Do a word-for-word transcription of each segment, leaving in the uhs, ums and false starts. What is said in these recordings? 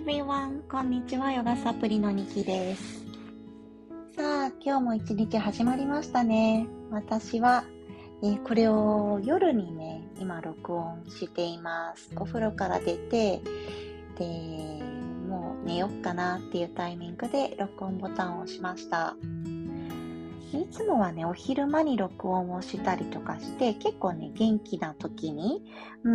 everyone! こんにちは、ヨガサプリのニキです。さあ、今日も一日始まりましたね。私は、えーこれを夜にね、今録音しています。お風呂から出て、で、もう寝よっかなっていうタイミングで録音ボタンを押しました。いつもはね、お昼間に録音をしたりとかして、結構ね、元気な時に、うん、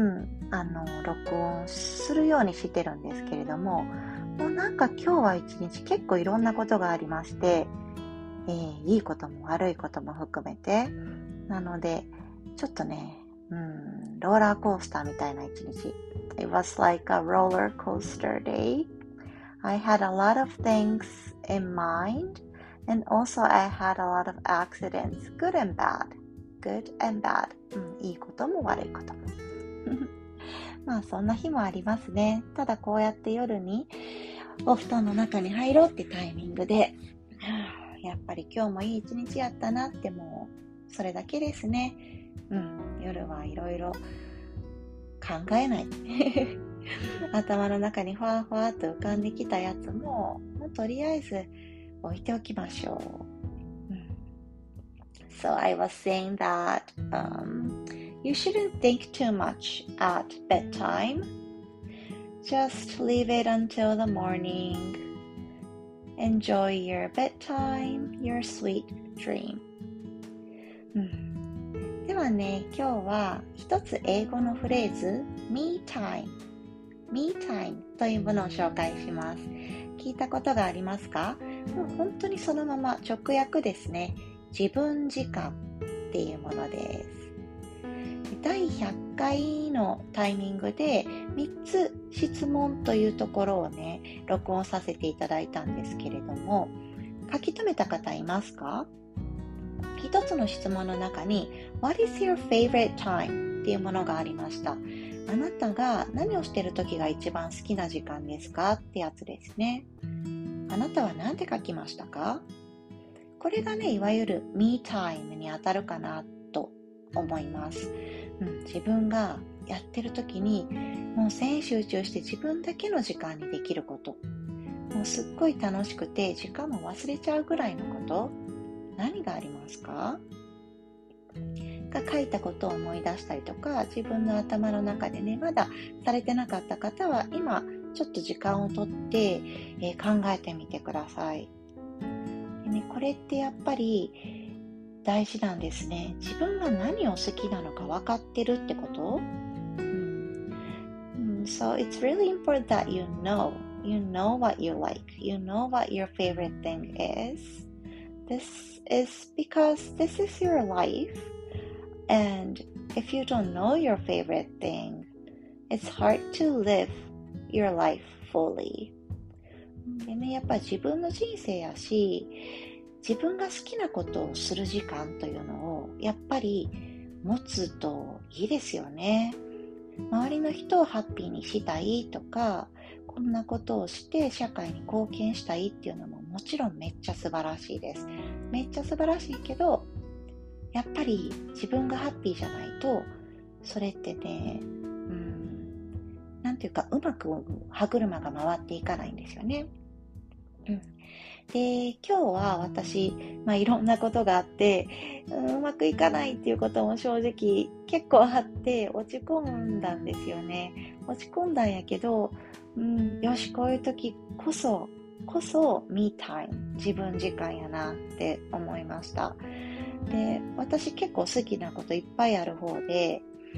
あの、録音するようにしてるんですけれども、もうなんか今日は一日結構いろんなことがありまして、えーいいことも悪いことも含めて、なので、ちょっとね、うん、ローラーコースターみたいな一日。It was like a roller coaster day. I had a lot of things in mind.And also I had a lot of accidents, good and bad. Good and bad. うん、いいことも悪いことも。まあそんな日もありますね。ただこうやって夜にお布団の中に入ろうってタイミングで、やっぱり今日もいい一日やったなってもうそれだけですね。うん、夜はいろいろ考えない。頭の中にふわふわっと浮かんできたやつも、もうとりあえず置いておきましょう。うん、So I was saying that、um, you shouldn't think too much at bedtime. Just leave it until the morning. Enjoy your bedtime, your sweet dream. うん、ではね、今日は一つ英語のフレーズ Me time、Me time というものを紹介します。聞いたことがありますか？もう本当にそのまま直訳ですね。自分時間っていうものです。だいひゃっかいのタイミングでみっつ質問というところをね、録音させていただいたんですけれども、書き留めた方いますか？一つの質問の中に What is your favorite time? っていうものがありました。あなたが何をしている時が一番好きな時間ですかってやつですね。あなたは何て書きましたか？これがね、いわゆる Me time に当たるかなと思います。うん、自分がやってる時にもう全集中して自分だけの時間にできること。もうすっごい楽しくて時間も忘れちゃうぐらいのこと。何がありますか？が書いたことを思い出したりとか、自分の頭の中でね、まだされてなかった方は今ちょっと時間をとって、えー考えてみてください。でね、これってやっぱり大事なんですね。自分が何を好きなのか分かってるってこと、うん、So it's really important that you know. You know what you like. You know what your favorite thing is. This is because this is your life.And if you don't know your favorite thing, it's hard to live your life fully. でね、やっぱり自分の人生やし、自分が好きなことをする時間というのをやっぱり持つといいですよね。周りの人をハッピーにしたいとか、こんなことをして社会に貢献したいっていうのももちろんめっちゃ素晴らしいです。めっちゃ素晴らしいけど、やっぱり自分がハッピーじゃないと、それってね、うん、なんていうかうまく歯車が回っていかないんですよね。うん、で、今日は私、まあ、いろんなことがあって、うん、うまくいかないっていうことも正直結構あって落ち込んだんですよね。落ち込んだんやけど、うん、よし、こういう時こそ、こそ Me time、自分時間やなって思いました。で、私結構好きなこといっぱいある方で、うん、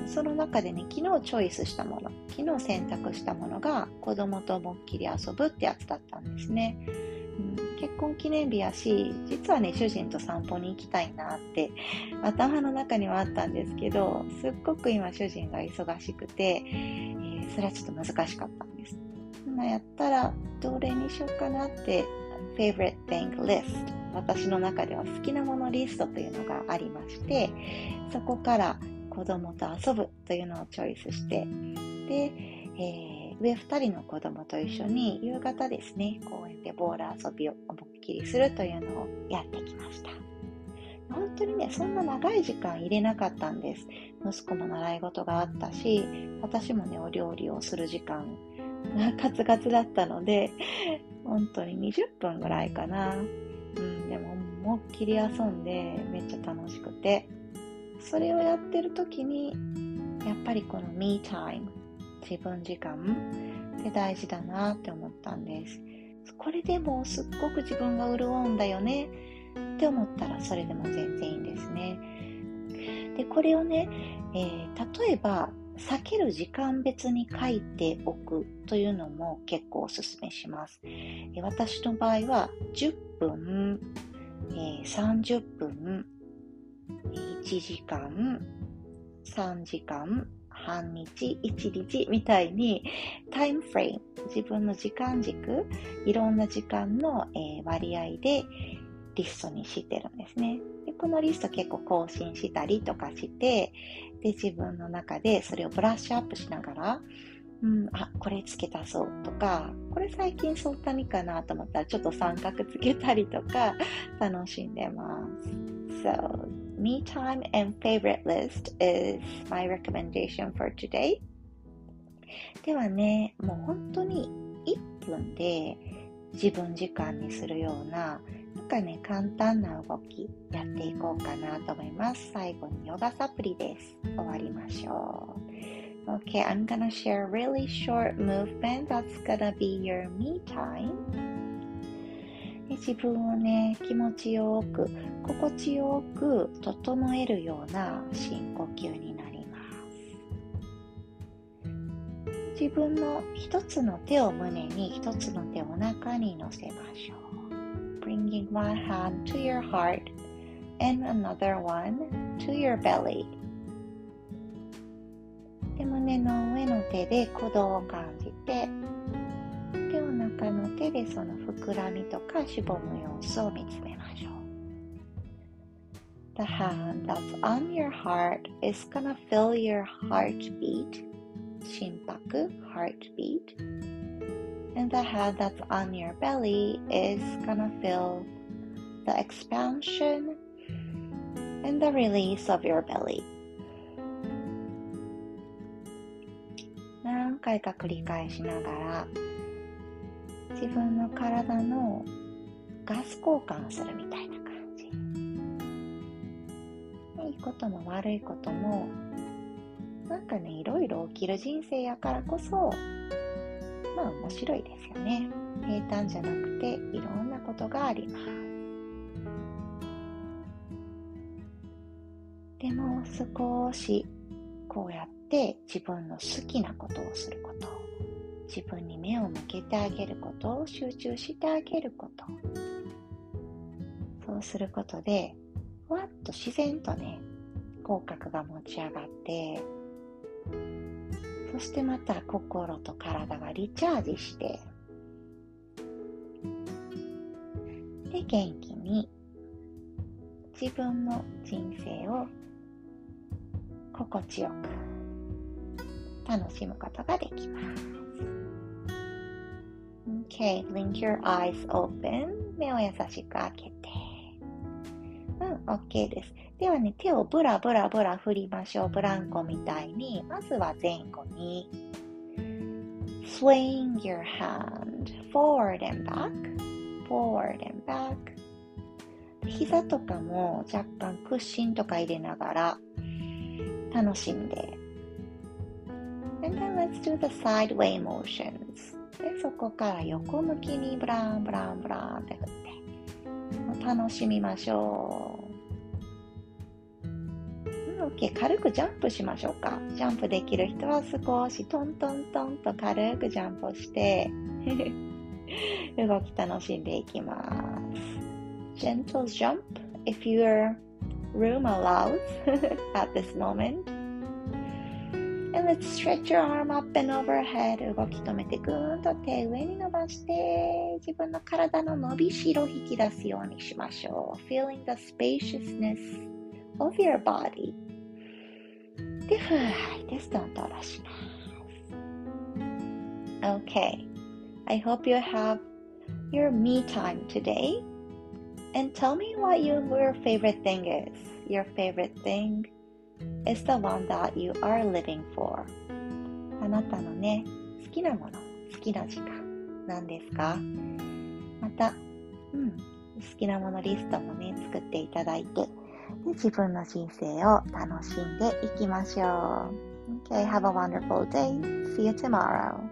その中でね、昨日チョイスしたもの、昨日選択したものが子供と思いっきり遊ぶってやつだったんですね。うん、結婚記念日やし、実はね、主人と散歩に行きたいなって頭の中にはあったんですけど、すっごく今主人が忙しくて、えー、それはちょっと難しかったんです。まあ、やったらどれにしようかなってfavorite thing list、 私の中では好きなものリストというのがありまして、そこから子供と遊ぶというのをチョイスして、で、えー、上ふたりの子供と一緒に夕方ですね、公園でボール遊びを思いっきりするというのをやってきました。本当にね、そんな長い時間入れなかったんです。息子も習い事があったし、私もね、お料理をする時間カツカツだったので、本当ににじゅっぷんぐらいかな。うん、でも思いっきり遊んでめっちゃ楽しくて、それをやってる時にやっぱりこの me time、 自分時間って大事だなって思ったんです。これでもすっごく自分が潤うんだよねって思ったらそれでも全然いいんですね。でこれをね、えー、例えば避ける時間別に書いておくというのも結構おすすめします。えー、私の場合はじゅっぷん、えー、さんじゅっぷん、いちじかん、さんじかん、半日、いちにちみたいにタイムフレーム、自分の時間軸、いろんな時間の、えー、割合でリストにしてるんですね。でこのリスト結構更新したりとかして、で自分の中でそれをブラッシュアップしながら、うん、あ、これつけたそうとか、これ最近そんなにかなと思ったらちょっと三角つけたりとか楽しんでます。So, me time and favorite list is my recommendation for today. ではね、もう本当にいっぷんで自分時間にするような、なんかね、簡単な動きやっていこうかなと思います。最後にヨガサプリです。終わりましょう。Okay, I'm gonna share a really short movement that's gonna be your me time. 自分をね、気持ちよく、心地よく整えるような深呼吸になります。自分の一つの手を胸に、一つの手をお腹に乗せましょう。Bringing one hand to your heart and another one to your belly. で、胸の上の手で鼓動を感じて、で、お腹の手でその膨らみとかしぼむ様子を見つめましょう。The hand that's on your heart is gonna feel your heartbeat, 心拍 heartbeat, and the hand that's on your belly is gonna feel the expansion and the release of your belly. 何回か繰り返しながら自分の体のガス交換するみたいな感じ。いいことも悪いこともなんかね、いろいろ起きる人生やからこそ、まあ面白いですよね。平坦じゃなくていろんなことがあります。でも少しこうやって自分の好きなことをすること、自分に目を向けてあげること、集中してあげること、そうすることでふわっと自然とね、口角が持ち上がって、そしてまた心と体がリチャージして、で元気に自分の人生を心地よく楽しむことができます。Okay, blink your eyes open. 目を優しく開けて。うん、OK です。ではね、手をブラブラブラ振りましょう。ブランコみたいに。まずは前後に。Swing your hand forward and back. Forward and back. 膝とかも若干クッシンとか入れながら楽しんで。And then let's do the sideway motions. で、そこから横向きにブランブランブランって振って楽しみましょう。OK、軽くジャンプしましょうか。ジャンプできる人は少しトントントンと軽くジャンプをして動き楽しんでいきます。Gentle jump if your room allows at this moment.And let's stretch your arm up and overhead. 動き止めてぐーんと手上に伸ばして自分の体の伸びしろを引き出すようにしましょう。Feeling the spaciousness of your body. で、ふー吐いてストンと下ろします。Okay. I hope you have your me time today. And tell me what your favorite thing is. Your favorite thing.is the one that you are living for. あなたのね、好きなもの、 好きな時間なんですか？また、うん、好きなものリストもね、作っていただいて、で自分の人生を楽しんでいきましょう。Okay, have a wonderful day. See you tomorrow.